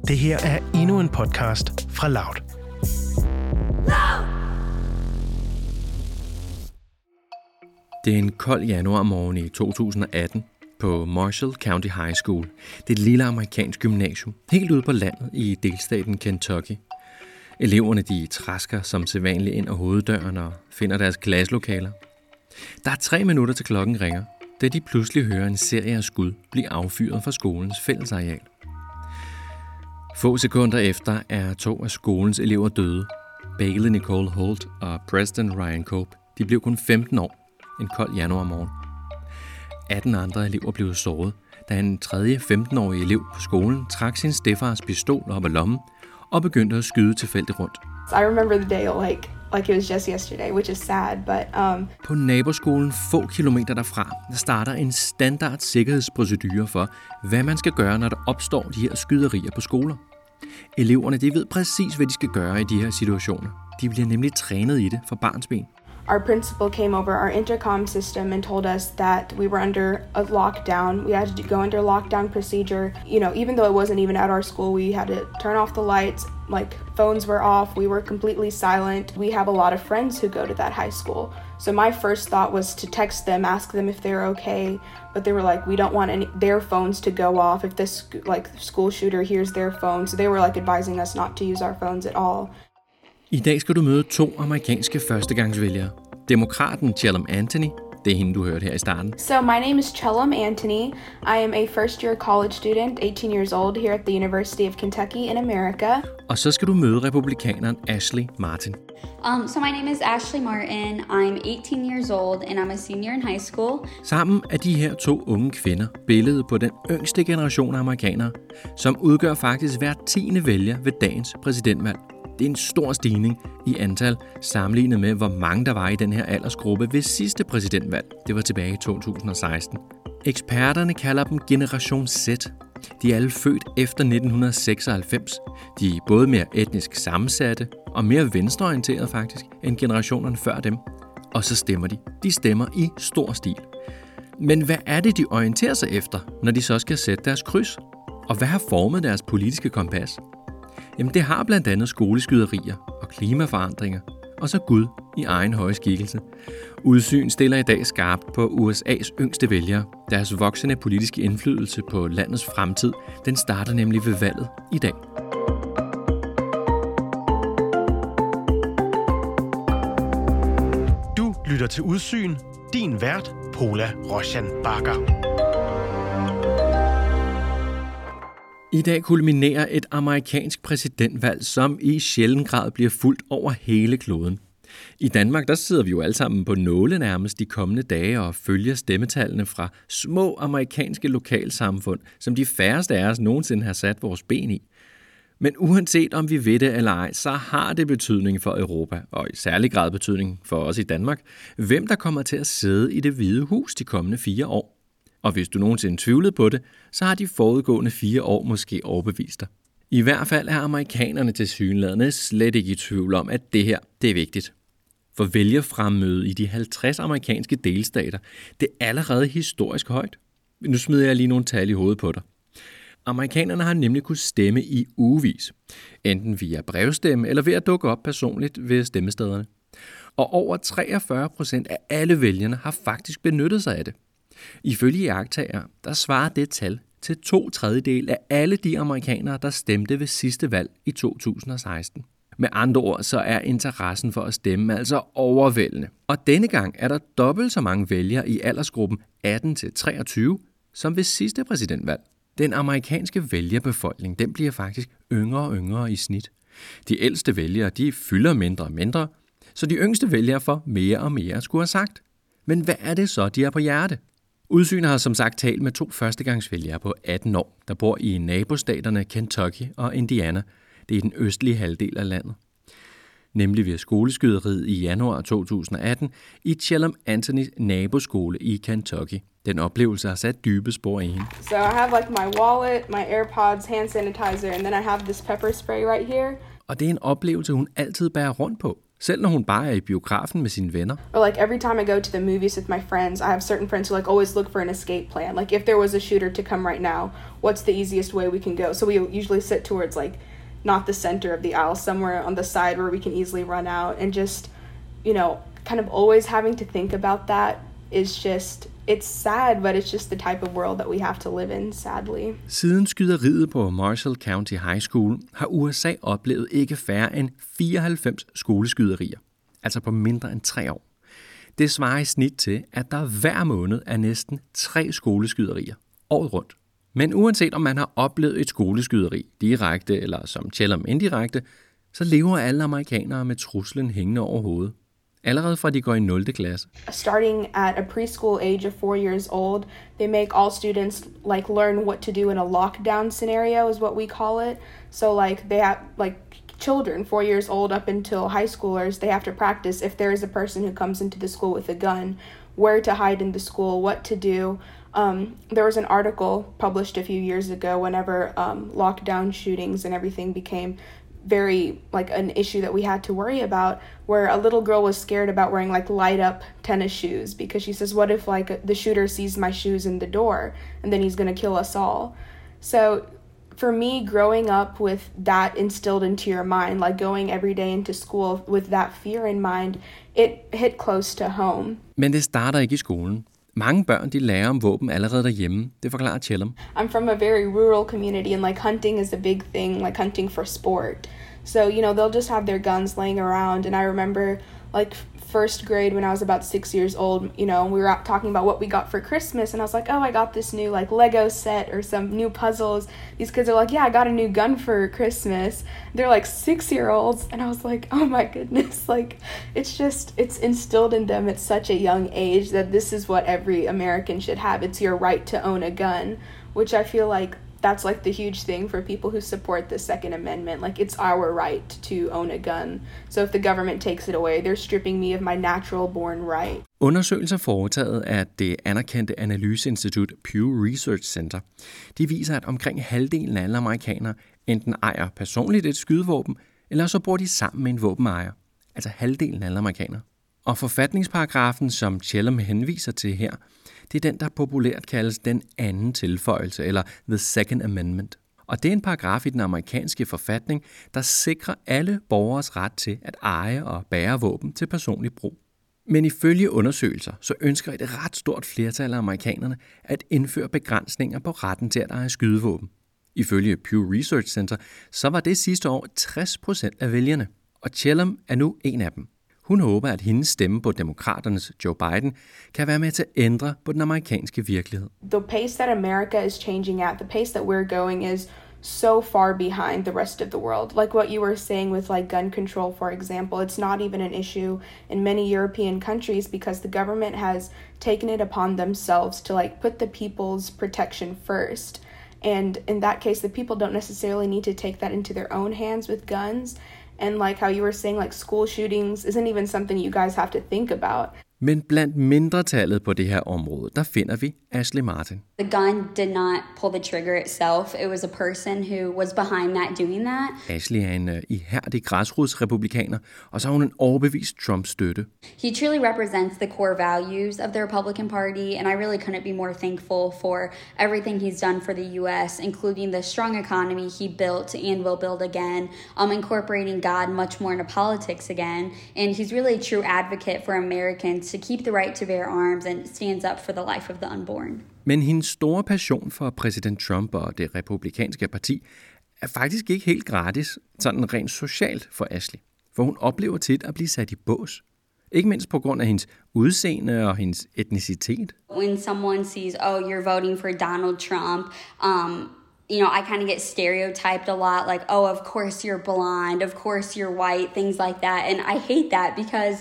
Det her er endnu en podcast fra Loud. Det er en kold januarmorgen i 2018 på Marshall County High School. Det er et lille amerikansk gymnasium, helt ude på landet i delstaten Kentucky. Eleverne de trasker som sædvanligt ind ad hoveddøren og finder deres klasselokaler. Der er 3 minutter til klokken ringer, da de pludselig hører en serie af skud blive affyret fra skolens fællesareal. Få sekunder efter er 2 af skolens elever døde. Bailey Nicole Holt og Preston Ryan Cope. De blev kun 15 år en kold januarmorgen. 18 andre elever blev såret, da en tredje 15-årig elev på skolen trak sin stedfars pistol op af lommen og begyndte at skyde tilfældigt rundt. I remember the day like it was just yesterday, which is sad, but På naboskolen få kilometer derfra, der starter en standard sikkerhedsprocedure for, hvad man skal gøre, når der opstår de her skyderier på skoler. Eleverne de ved præcis, hvad de skal gøre i de her situationer. De bliver nemlig trænet i det fra barnsben. our principal came over our intercom system and told us that we were under a lockdown. We had to go under lockdown procedure. You know, even though it wasn't even at our school, we had to turn off the lights, like phones were off, we were completely silent. We have a lot of friends who go to that high school. So my first thought was to text them, ask them if they're okay, but they were like, we don't want their phones to go off if this school shooter hears their phone. So they were like advising us not to use our phones at all. I dag skal du møde 2 amerikanske førstegangsvælgere. Demokraten Chellam Anthony, det er hende, du hørte her i starten. So my name is Chellam Anthony. I am a first-year college student, 18 years old, here at the University of Kentucky in America. Og så skal du møde republikaneren Ashley Martin. So my name is Ashley Martin. I'm 18 years old, and I'm a senior in high school. Sammen er de her 2 unge kvinder billedet på den yngste generation af amerikanere, som udgør faktisk hver 10. vælger ved dagens præsidentvalg. Det er en stor stigning i antal sammenlignet med, hvor mange der var i den her aldersgruppe ved sidste præsidentvalg. Det var tilbage i 2016. Eksperterne kalder dem Generation Z. De er alle født efter 1996. De er både mere etnisk sammensatte og mere venstreorienterede faktisk end generationerne før dem. Og så stemmer de. De stemmer i stor stil. Men hvad er det, de orienterer sig efter, når de så skal sætte deres kryds? Og hvad har formet deres politiske kompas? Jamen det har blandt andet skoleskyderier og klimaforandringer, og så Gud i egen høje skikkelse. Udsyn stiller i dag skarpt på USA's yngste vælgere. Deres voksende politiske indflydelse på landets fremtid, den starter nemlig ved valget i dag. Du lytter til Udsyn. Din vært, Paula Roshan Bakker. I dag kulminerer et amerikansk præsidentvalg, som i sjælden grad bliver fulgt over hele kloden. I Danmark der sidder vi jo alle sammen på nåle nærmest de kommende dage og følger stemmetallene fra små amerikanske lokalsamfund, som de færreste af os nogensinde har sat vores ben i. Men uanset om vi ved det eller ej, så har det betydning for Europa, og i særlig grad betydning for os i Danmark, hvem der kommer til at sidde i Det Hvide Hus de kommende 4 år. Og hvis du nogensinde tvivlede på det, så har de forudgående 4 år måske overbevist dig. I hvert fald er amerikanerne tilsyneladende slet ikke i tvivl om, at det her, det er vigtigt. For vælgerfremmødet i de 50 amerikanske delstater, det er allerede historisk højt. Nu smider jeg lige nogle tal i hovedet på dig. Amerikanerne har nemlig kunnet stemme i ugevis, enten via brevstemme eller ved at dukke op personligt ved stemmestederne. Og over 43% af alle vælgerne har faktisk benyttet sig af det. Ifølge iagttagere, der svarer det tal til 2/3 af alle de amerikanere, der stemte ved sidste valg i 2016. Med andre ord, så er interessen for at stemme altså overvældende. Og denne gang er der dobbelt så mange vælgere i aldersgruppen 18-23 som ved sidste præsidentvalg. Den amerikanske vælgerbefolkning, den bliver faktisk yngre og yngre i snit. De ældste vælgere, de fylder mindre og mindre, så de yngste vælgere får mere og mere skulle have sagt. Men hvad er det så, de har på hjerte? Udsyn har som sagt talt med 2 førstegangsvælgere på 18 år, der bor i nabostaterne Kentucky og Indiana. Det er den østlige halvdel af landet. Nemlig ved skoleskyderiet i januar 2018 i Chellam Anthonys naboskole i Kentucky. Den oplevelse har sat dybe spor i hende. So I have like my wallet, my AirPods, hand sanitizer, and then I have this pepper spray right here. Og det er en oplevelse, hun altid bærer rundt på. Selv når hun bare er i biografen med sine venner. Or like every time I go to the movies with my friends, I have certain friends who like always look for an escape plan. Like if there was a shooter to come right now, what's the easiest way we can go? So we usually sit towards like not the center of the aisle, somewhere on the side where we can easily run out. And just, you know, kind of always having to think about that is just, it's sad, but it's just the type of world that we have to live in, sadly. Siden skyderiet på Marshall County High School har USA oplevet ikke færre end 94 skoleskyderier, altså på mindre end 3 år. Det svarer i snit til, at der hver måned er næsten 3 skoleskyderier året rundt. Men uanset om man har oplevet et skoleskyderi direkte eller som Chellam indirekte, så lever alle amerikanere med truslen hængende over hovedet. Allerede fra de går i 0. klasse. Starting at a preschool age of 4 years old, they make all students like learn what to do in a lockdown scenario is what we call it. So like they have like children 4 years old up until high schoolers, they have to practice if there is a person who comes into the school with a gun, where to hide in the school, what to do. There was an article published a few years ago whenever lockdown shootings and everything became very like an issue that we had to worry about, where a little girl was scared about wearing like light up tennis shoes because she says, what if like the shooter sees my shoes in the door and then he's going to kill us all? So for me, growing up with that instilled into your mind, like going every day into school with that fear in mind, it hit close to home. Men det starter ikke i skolen. Mange børn de lærer om våben allerede derhjemme, det forklarer Chellam. I'm from a very rural community and like hunting is a big thing, like hunting for sport. So, you know, they'll just have their guns laying around. And I remember like first grade when I was about 6 years old, you know, we were out talking about what we got for Christmas. And I was like, oh, I got this new like Lego set or some new puzzles. These kids are like, yeah, I got a new gun for Christmas. They're like 6-year-olds. And I was like, oh my goodness, like it's instilled in them at such a young age that this is what every American should have. It's your right to own a gun, which I feel like that's like the huge thing for people who support the Second Amendment. Like it's our right to own a gun. So if the government takes it away, they're stripping me of my natural born right. Undersøgelser foretaget af det anerkendte analyseinstitut Pew Research Center, de viser, at omkring halvdelen af alle amerikanere enten ejer personligt et skydevåben, eller så bor de sammen med en våbenejer. Altså halvdelen af alle amerikanere. Og forfatningsparagrafen, som Chellam henviser til her, det er den, der populært kaldes den anden tilføjelse, eller The Second Amendment. Og det er en paragraf i den amerikanske forfatning, der sikrer alle borgeres ret til at eje og bære våben til personlig brug. Men ifølge undersøgelser, så ønsker et ret stort flertal af amerikanerne at indføre begrænsninger på retten til at eje skydevåben. Ifølge Pew Research Center, så var det sidste år 60% af vælgerne, og Chellam er nu en af dem. Hun håber, at hendes stemme på demokraternes Joe Biden kan være med til at ændre på den amerikanske virkelighed. The pace that America is changing at, the pace that we're going is so far behind the rest of the world. Like what you were saying with like gun control, for example, it's not even an issue in many European countries because the government has taken it upon themselves to like put the people's protection first. And in that case, the people don't necessarily need to take that into their own hands with guns. And like how you were saying, like school shootings isn't even something you guys have to think about. Men blandt mindretallet på det her område, der finder vi Ashley Martin. The gun did not pull the trigger itself. It was a person who was behind that doing that. Ashley er en ihærdig græsrodsrepublikaner, og så har hun en overbevist Trump-støtte. He truly represents the core values of the Republican Party, and I really couldn't be more thankful for everything he's done for the U.S., including the strong economy he built and will build again, incorporating God much more into politics again, and he's really a true advocate for Americans to keep the right to bear arms and stands up for the life of the unborn. Men hendes store passion for præsident Trump og det republikanske parti er faktisk ikke helt gratis, sådan rent socialt for Ashley. For hun oplever tit at blive sat i bås. Ikke mindst på grund af hendes udseende og hendes etnicitet. When someone sees, oh, you're voting for Donald Trump, you know, I kind of get stereotyped a lot, like, oh, of course you're blonde, of course you're white, things like that. And I hate that because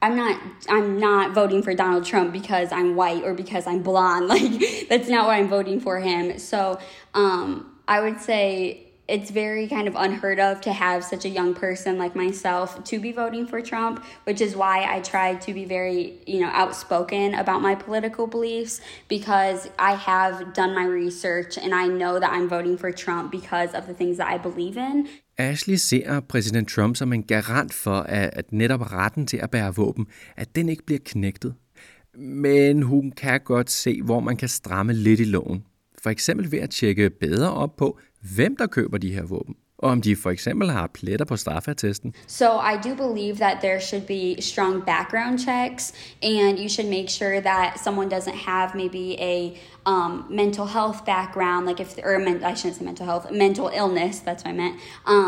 I'm not voting for Donald Trump because I'm white or because I'm blonde. Like, that's not why I'm voting for him. So I would say it's very kind of unheard of to have such a young person like myself to be voting for Trump, which is why I try to be very, outspoken about my political beliefs, because I have done my research and I know that I'm voting for Trump because of the things that I believe in. Ashley ser præsident Trump som en garant for, at netop retten til at bære våben, at den ikke bliver knægtet. Men hun kan godt se, hvor man kan stramme lidt i loven. For eksempel ved at tjekke bedre op på, hvem der køber de her våben, og om de for eksempel har pletter på straffeattesten. So I do believe that there should be strong background checks, and you should make sure that someone doesn't have maybe a mental health background, I shouldn't say mental health, mental illness, that's what I meant,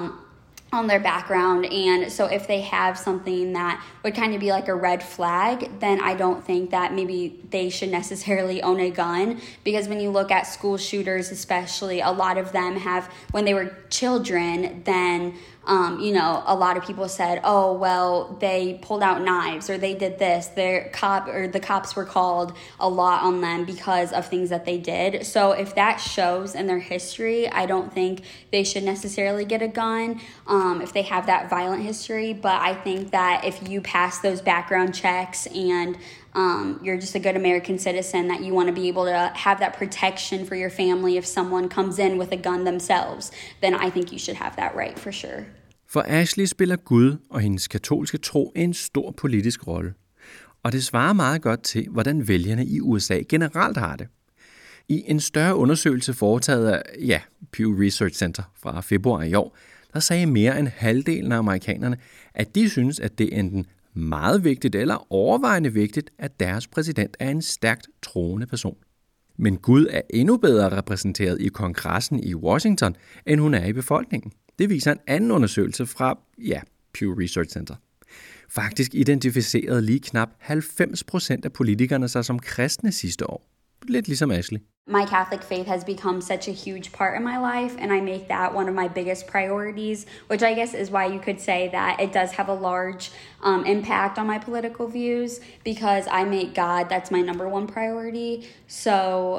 on their background. And so if they have something that would kind of be like a red flag, then I don't think that maybe they should necessarily own a gun, because when you look at school shooters especially, a lot of them have, when they were children, then a lot of people said, oh, well, they pulled out knives or they did this. The cops were called a lot on them because of things that they did. So if that shows in their history, I don't think they should necessarily get a gun if they have that violent history. But I think that if you pass those background checks and you're just a good American citizen, that you want to be able to have that protection for your family if someone comes in with a gun themselves, then I think you should have that right for sure. For Ashley spiller Gud og hendes katolske tro en stor politisk rolle. Og det svarer meget godt til, hvordan vælgerne i USA generelt har det. I en større undersøgelse foretaget af Pew Research Center fra februar i år, der sagde mere end halvdelen af amerikanerne, at de synes, at det er enten meget vigtigt eller overvejende vigtigt, at deres præsident er en stærkt troende person. Men Gud er endnu bedre repræsenteret i kongressen i Washington, end hun er i befolkningen. Det viser en anden undersøgelse fra, Pew Research Center. Faktisk identificerede lige knap 90% af politikerne sig som kristne sidste år. Lidt ligesom Ashley. My Catholic faith has become such a huge part of my life, and I make that one of my biggest priorities, which I guess is why you could say that it does have a large impact on my political views, because I make God, that's my number one priority. So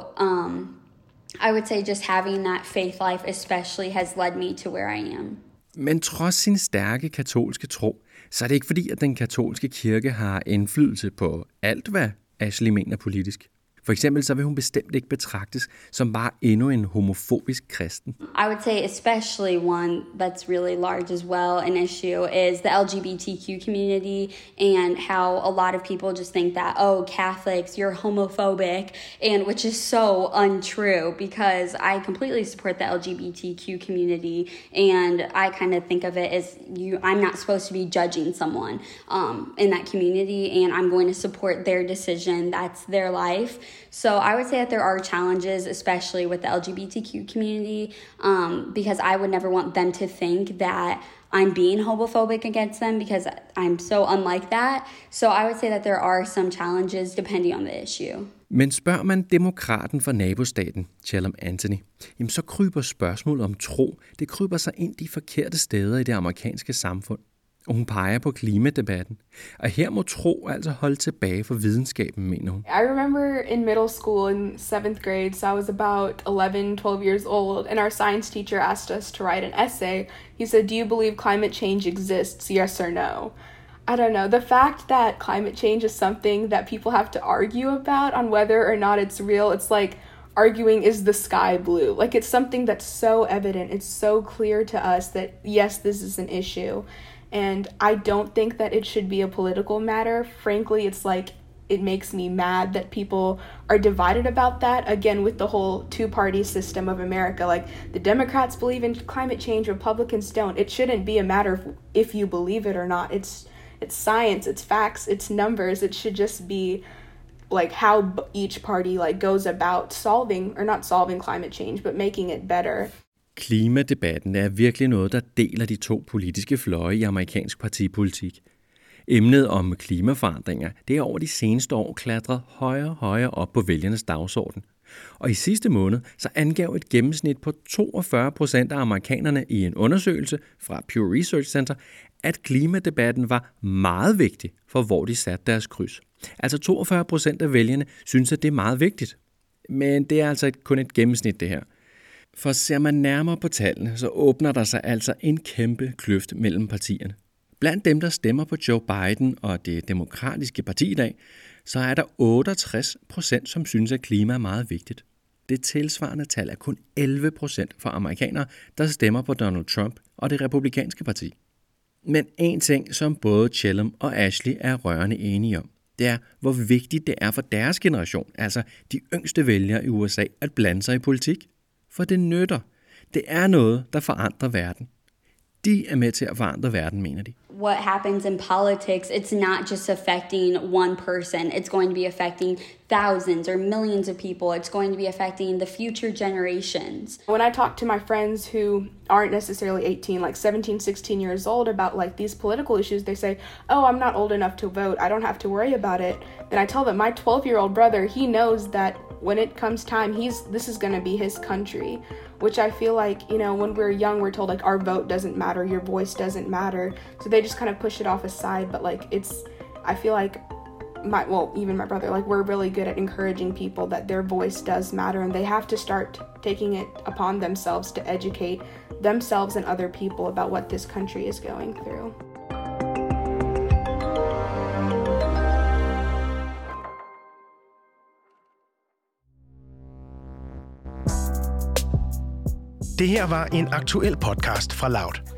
I would say just having that faith life especially has led me to where I am. Men trods sin stærke katolske tro, så er det ikke fordi, at den katolske kirke har indflydelse på alt, hvad Ashley mener politisk. For eksempel så vil hun bestemt ikke betragtes som bare endnu en homofobisk kristen. I would say especially one that's really large as well, an issue, is the LGBTQ community, and how a lot of people just think that, oh, Catholics, you're homophobic, and which is so untrue, because I completely support the LGBTQ community, and I kind of think of it as I'm not supposed to be judging someone in that community, and I'm going to support their decision. That's their life. So I would say that there are challenges, especially with the LGBTQ community, because I would never want them to think that I'm being homophobic against them, because I'm so unlike that. So I would say that there are some challenges depending on the issue. Men spørger man demokraten fra nabostaten, Chalem Anthony, jamen så kryber spørgsmålet om tro, det kryber sig ind de forkerte steder i det amerikanske samfund. Og hun peger på klimadebatten. Og her må tro altså holde tilbage for videnskaben, mener hun. I remember in middle school in 7th grade, so I was about 11-12 years old, and our science teacher asked us to write an essay. He said, do you believe climate change exists, yes or no? I don't know. The fact that climate change is something that people have to argue about on whether or not it's real, it's like arguing, is the sky blue? Like, it's something that's so evident, it's so clear to us that, yes, this is an issue. And I don't think that it should be a political matter. Frankly, it's like, it makes me mad that people are divided about that. Again, with the whole two-party system of America, like the Democrats believe in climate change, Republicans don't. It shouldn't be a matter of if you believe it or not. It's science, it's facts, it's numbers. It should just be like how each party like goes about solving, or not solving climate change, but making it better. Klimadebatten er virkelig noget, der deler de to politiske fløje i amerikansk partipolitik. Emnet om klimaforandringer, det er over de seneste år klatret højere og højere op på vælgernes dagsorden. Og i sidste måned så angav et gennemsnit på 42% af amerikanerne i en undersøgelse fra Pew Research Center, at klimadebatten var meget vigtig for, hvor de satte deres kryds. Altså 42% af vælgerne synes, at det er meget vigtigt. Men det er altså kun et gennemsnit, det her. For ser man nærmere på tallene, så åbner der sig altså en kæmpe kløft mellem partierne. Blandt dem, der stemmer på Joe Biden og det demokratiske parti i dag, så er der 68%, som synes, at klima er meget vigtigt. Det tilsvarende tal er kun 11% for amerikanere, der stemmer på Donald Trump og det republikanske parti. Men en ting, som både Chellam og Ashley er rørende enige om, det er, hvor vigtigt det er for deres generation, altså de yngste vælgere i USA, at blande sig i politik. For det nytter. Det er noget, der forandrer verden. De er med til at forandre verden, mener de. What happens in politics, it's not just affecting one person. It's going to be affecting thousands or millions of people. It's going to be affecting the future generations. When I talk to my friends who aren't necessarily 18, like 17, 16 years old about like these political issues, they say, oh, I'm not old enough to vote. I don't have to worry about it. Then I tell them my 12-year-old brother, he knows that when it comes time, this is going to be his country, which I feel like, you know, when we're young, we're told like our vote doesn't matter, your voice doesn't matter. So they just kind of push it off aside. But like I feel like even my brother, like we're really good at encouraging people that their voice does matter, and they have to start taking it upon themselves to educate themselves and other people about what this country is going through. Det her var en aktuel podcast fra Loud.